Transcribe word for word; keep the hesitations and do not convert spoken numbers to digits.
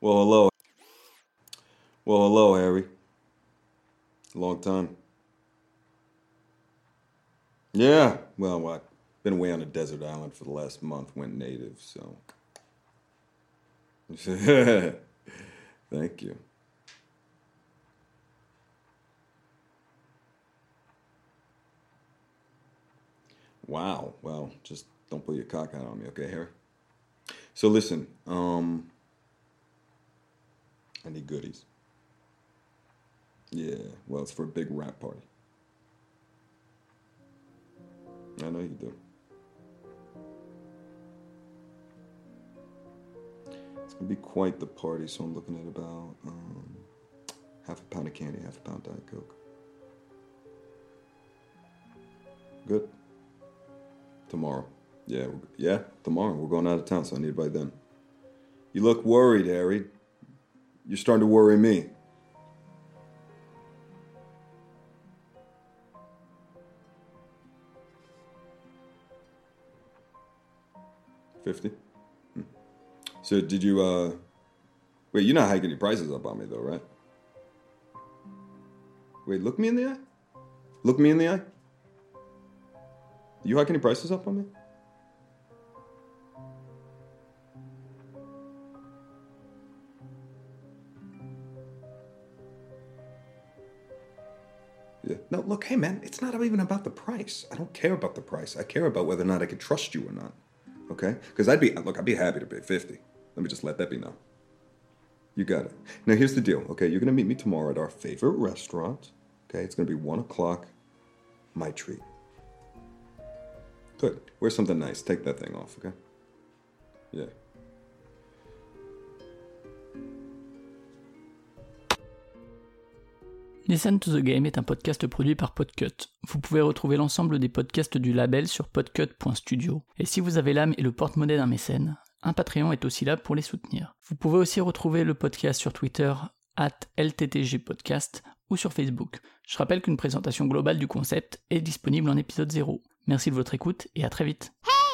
Well, hello. Well, hello, Harry. Long time. Yeah, well, what? Been away on a desert island for the last month, went native, so. Thank you. Wow, well, just don't pull your cock out on me, okay, Harry? So listen, um, I need goodies. Yeah, well, it's for a big rap party. I know you do. It's gonna be quite the party, so I'm looking at about um, half a pound of candy, half a pound Diet Coke. Good. Tomorrow. Yeah, we're, yeah, tomorrow. We're going out of town, so I need it by then. You look worried, Harry. You're starting to worry me. Fifty? Hmm. So did you, uh... Wait, you're not hiking your prices up on me, though, right? Wait, look me in the eye? Look me in the eye? You hiking your prices up on me? Yeah. No, look, hey, man, it's not even about the price. I don't care about the price. I care about whether or not I can trust you or not. Okay? Because I'd be, look, I'd be happy to pay fifty. Let me just let that be known. You got it. Now, here's the deal, okay? You're going to meet me tomorrow at our favorite restaurant. Okay? It's going to be one o'clock. My treat. Good. Wear something nice. Take that thing off, okay? Yeah. Listen to the Game est un podcast produit par Podcut. Vous pouvez retrouver l'ensemble des podcasts du label sur podcut point studio. Et si vous avez l'âme et le porte-monnaie d'un mécène, un Patreon est aussi là pour les soutenir. Vous pouvez aussi retrouver le podcast sur Twitter, arobase L T T G podcast, ou sur Facebook. Je rappelle qu'une présentation globale du concept est disponible en épisode zéro. Merci de votre écoute et à très vite.